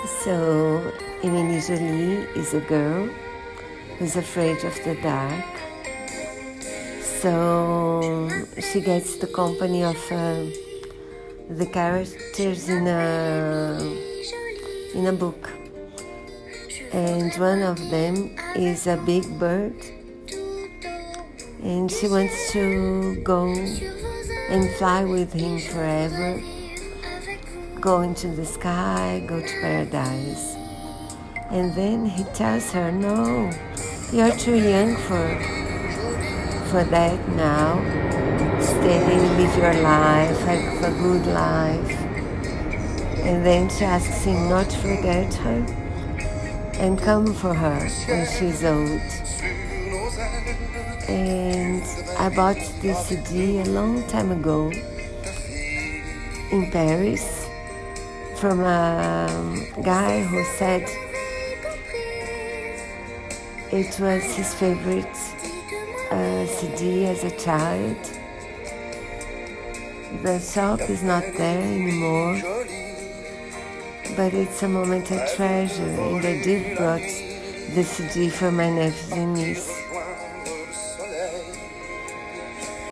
So, Emily Jolie is a girl who's afraid of the dark. So she gets the company of the characters in a book, and one of them is a big bird, and she wants to go and fly with him forever, go into the sky, go to paradise. And then he tells her, no, you're too young for that now. Stay, live your life, have a good life. And then she asks him not to forget her and come for her when she's old. And I bought this CD a long time ago in Paris from a guy who said it was his favorite CD as a child. The shop is not there anymore, but it's a moment I treasure, and I did brought the CD for my nephews and niece.